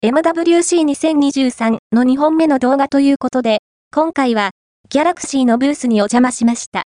MWC2023 の2本目の動画ということで、今回は、ギャラクシーのブースにお邪魔しました。